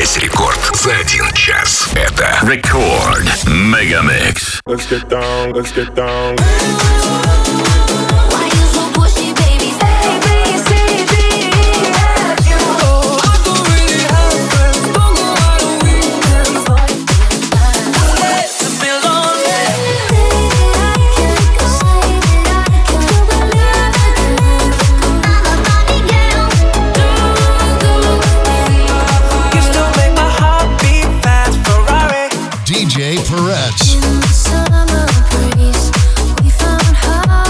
Весь рекорд за 1 час. Это Рекорд Мегамикс. Let's get down, let's get down. DJ Peretz. In the summer breeze, we found heart.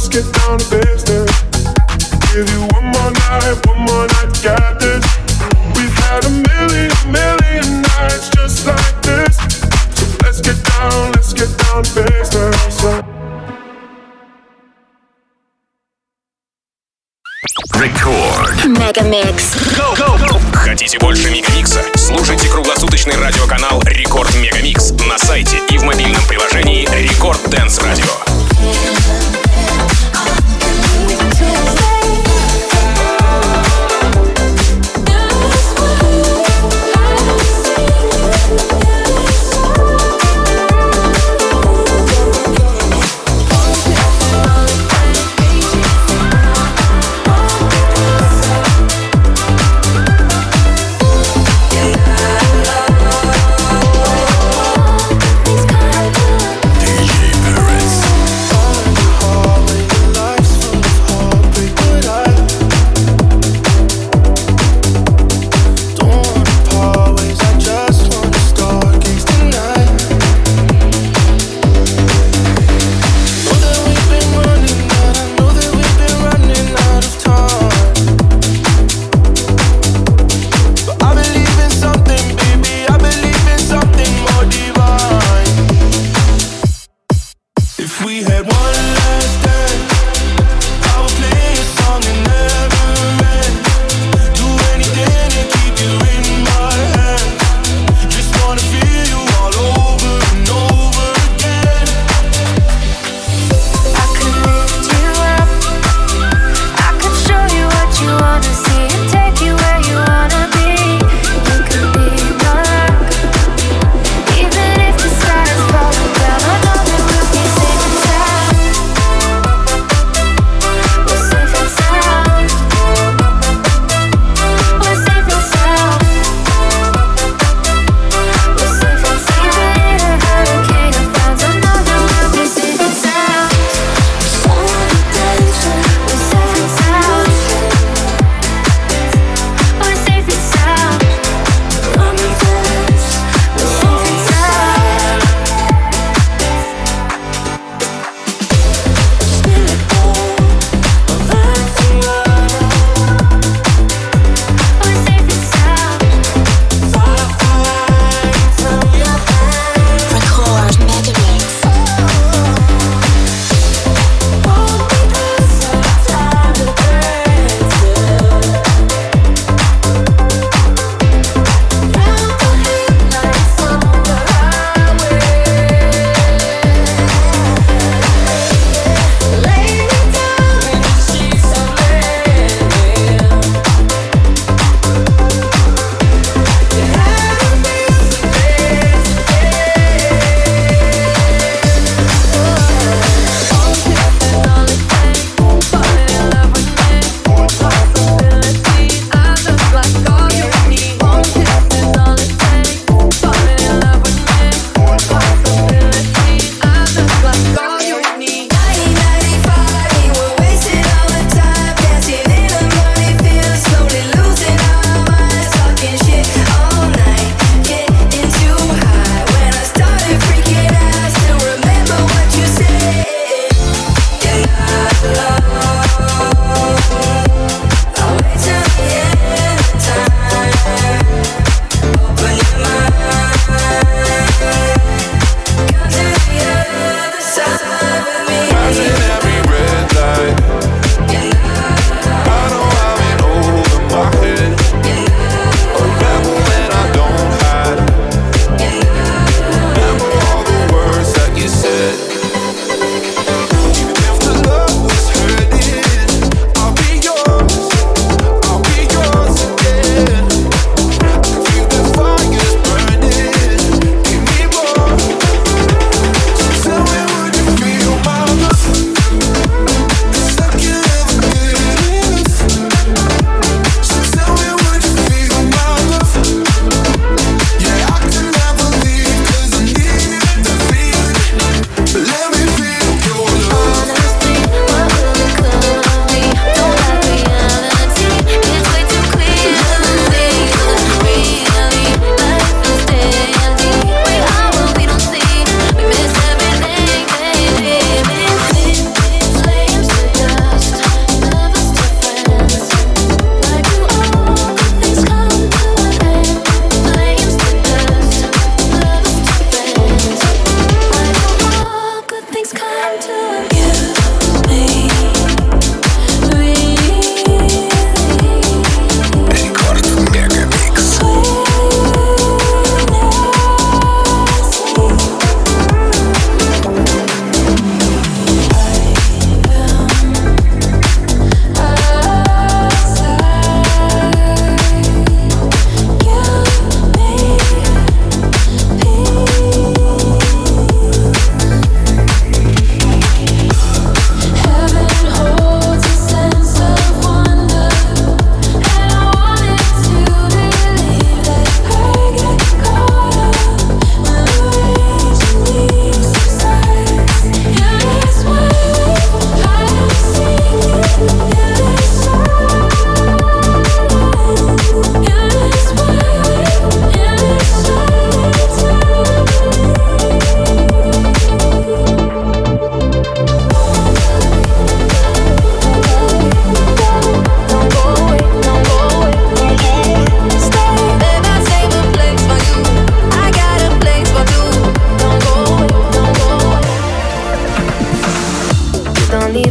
let's get down to business. Give you one more night, got this. We've had a million nights just like this. So let's get down to business. Record Мегамикс. Хотите больше Мегамикса? Слушайте круглосуточный радиоканал Рекорд Мегамикс на сайте и в мобильном приложении Рекорд Дэнс Радио.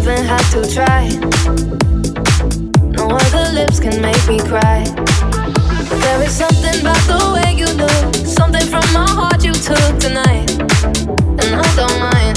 even have to try. No other lips can make me cry. There is something about the way you look, something from my heart you took tonight, and I don't mind.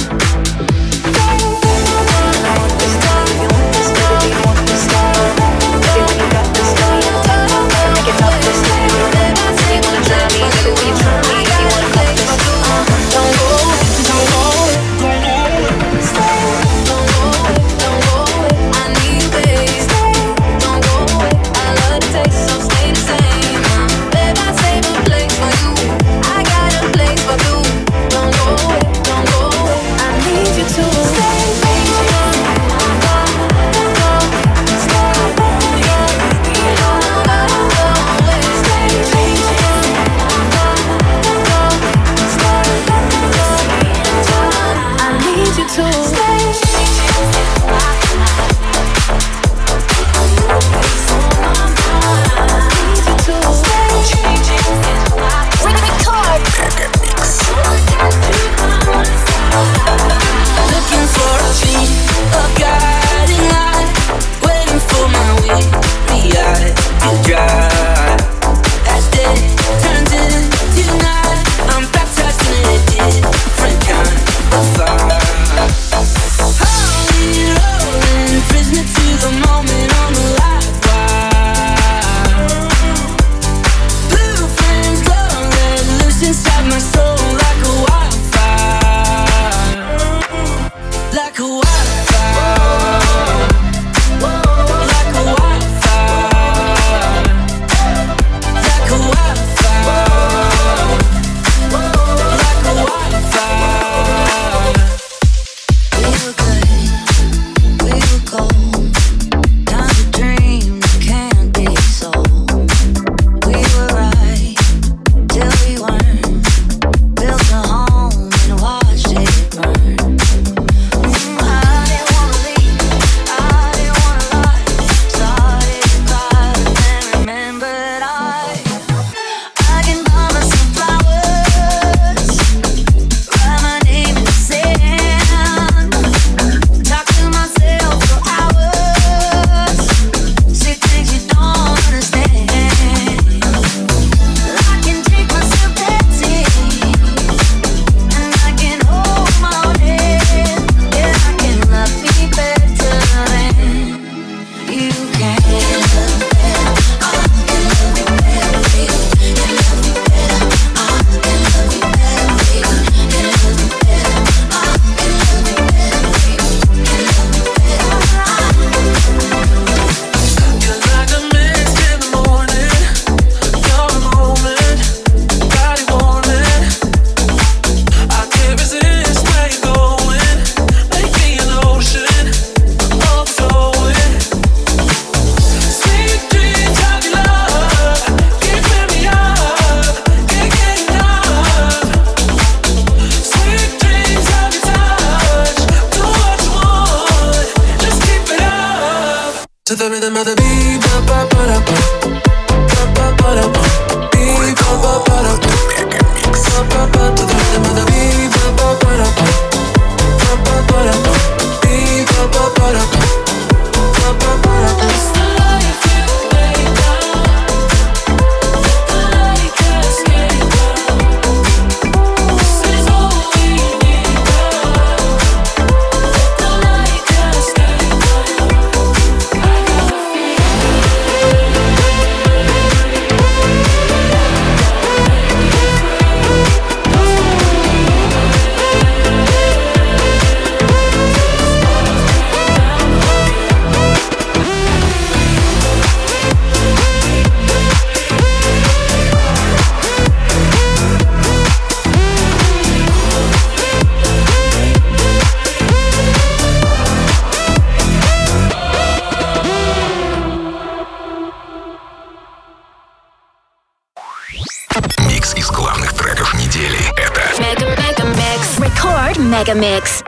Mega Mix.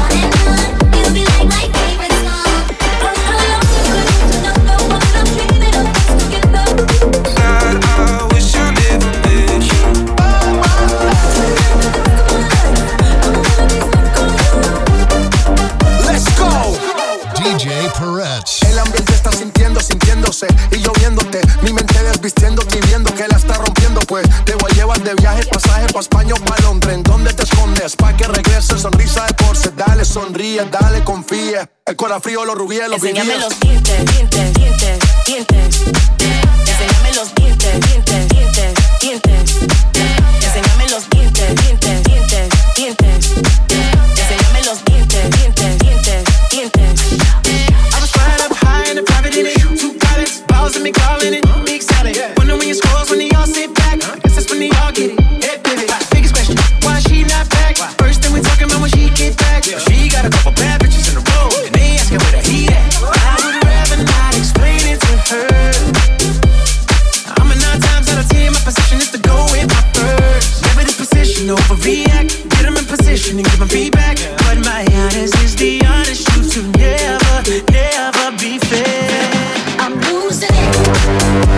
You'll be like my favorite song. Oh, how long you gonna know what I'm feeling? de viaje, pasaje pa' España o pa' Londres. ¿En dónde te escondes? Pa' que regrese, sonrisa de porce. Dale, sonríe, dale, confía. El corazón frío, los rubíes, los vivíes. Enséñame los dientes, dientes, dientes, dientes. Enséñame los dientes, dientes, dientes, dientes. Enséñame los dientes, dientes, dientes, dientes. Enséñame los dientes, dientes, dientes, dientes. I was flying up high in a private in it. 2 pilots, balls and me calling it big salad. Wonder when your scores, when they all sit back. I guess that's when they all get it. Head pivot. Biggest question, why she not back? First thing we talking about when she get back. She got a couple bad bitches in a row, and they asking where the heat at. I would rather not explain it to her. I'm a 9 times out of 10, my position is to go with my first. Never this position, overreact. Get them in position and give them feedback. But my honest is the honest truth to never, never be fair. I'm losing it.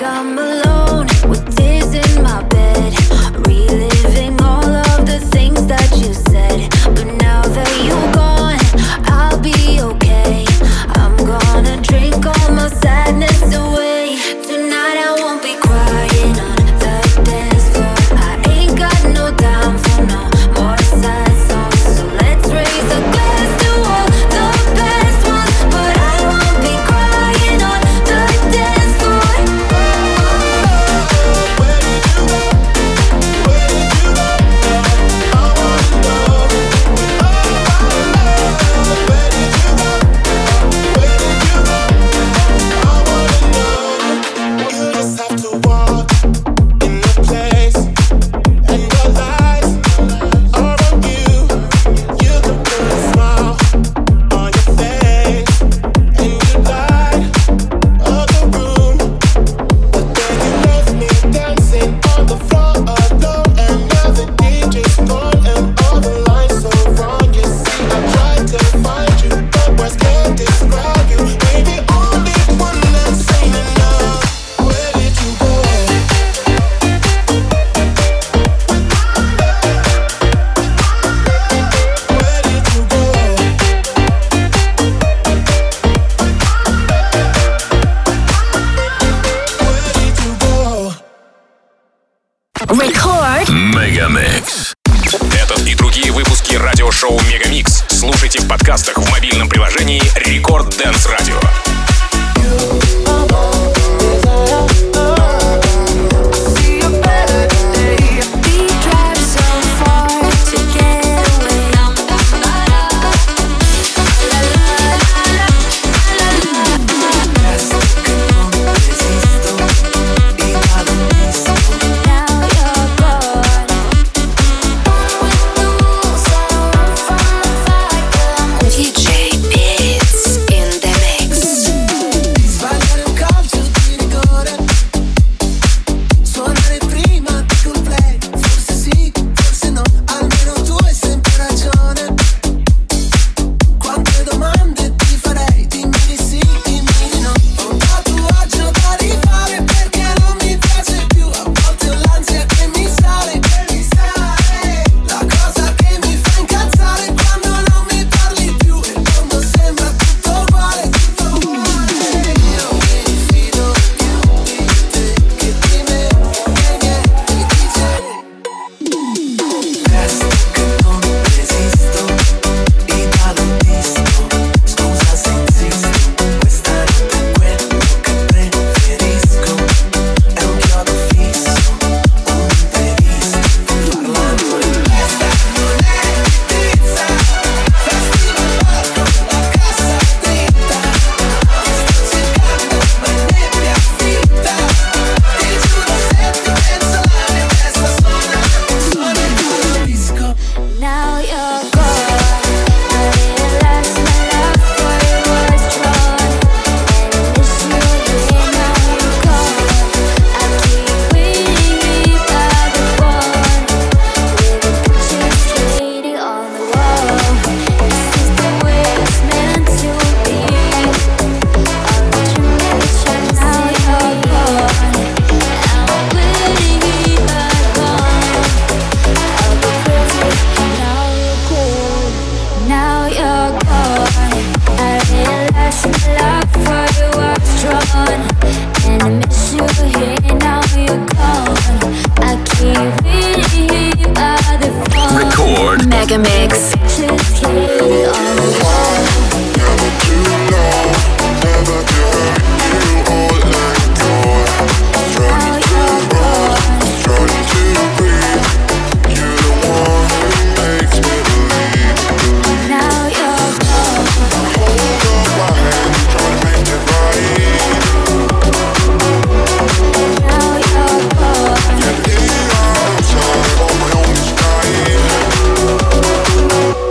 I'm alone with tears in my bed, reliving all of the things that you said. But now that you're gone, I'll be okay. I'm gonna drink all my sadness away. Tonight I won't be crying on the dance floor. I ain't got no time for no more sad songs. So let's raise a glass to all the best ones. But I won't be crying on the dance floor. Where did you go? Where did you go? I wanna know. Oh, where did you go? Where did you go? I wanna know. You just have to walk in the place, and your lights are on you. You can put a smile on your face, and you light up the room. But then you left me dancing on the floor alone, and now the DJ's gone and all the lines so wrong. You see, I tried to find you, but words can't describe you. Maybe only one that's ain't enough. Where did you go? Where did you go? Where did you go? Record Мегамикс. Этот и другие выпуски радиошоу Мегамикс слушайте в подкастах в мобильном приложении Record Dance Radio. We drive so far to get away. Now you're gone. DJ Beats in the mix. Sbagliare un calcio di rigore, suonare prima di col play. Forse sì, forse no, almeno tu hai sempre ragione. Quante domande ti farei, dimmi di sì, dimmi di no. Ho un tatuaggio da rifare perché non mi piace più. A volte ho l'ansia che mi sale, la cosa che mi fa incazzare quando non mi parli più. E il mondo sembra tutto uguale, tutto uguale. Io mi fido più di te che di me, e niente dice. Resto che non resisto, Italo disco. Scusa se insisto, questa notte è quello che preferisco. È un chiodo fisso, un imprevisto. Parlando in testa non è pizza. Festival palco, la cassa dritta. Ti sto cercando ma è nebbia fitta. Ti giuro se ti penso la mia testa suona il tuo disco. Now you're gone. I realized my love for you was strong, and I miss you here. Now you're gone. I keep waiting by the phone, with the pictures waiting on the wall. This is the way it's meant to be. I'll let you nature. Now you're gone. I'm waiting by gone. I'll be crazy. Now you're cool. Now you're gone. I realize my love for you was strong, and I miss you here. Now you're gone. I keep waiting by the phone. Record Megamix. Just hate on the wall. Never too long, never to hurt you or let go. Now you're gone. Trying to breathe. You're the one who makes me believe. Now you're gone. Hold up my hand, try to make it right. Now you're gone. Get me outside on my own sky.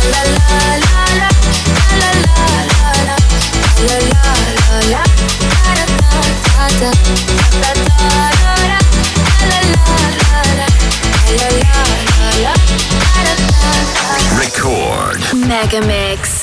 Record Mega Mix.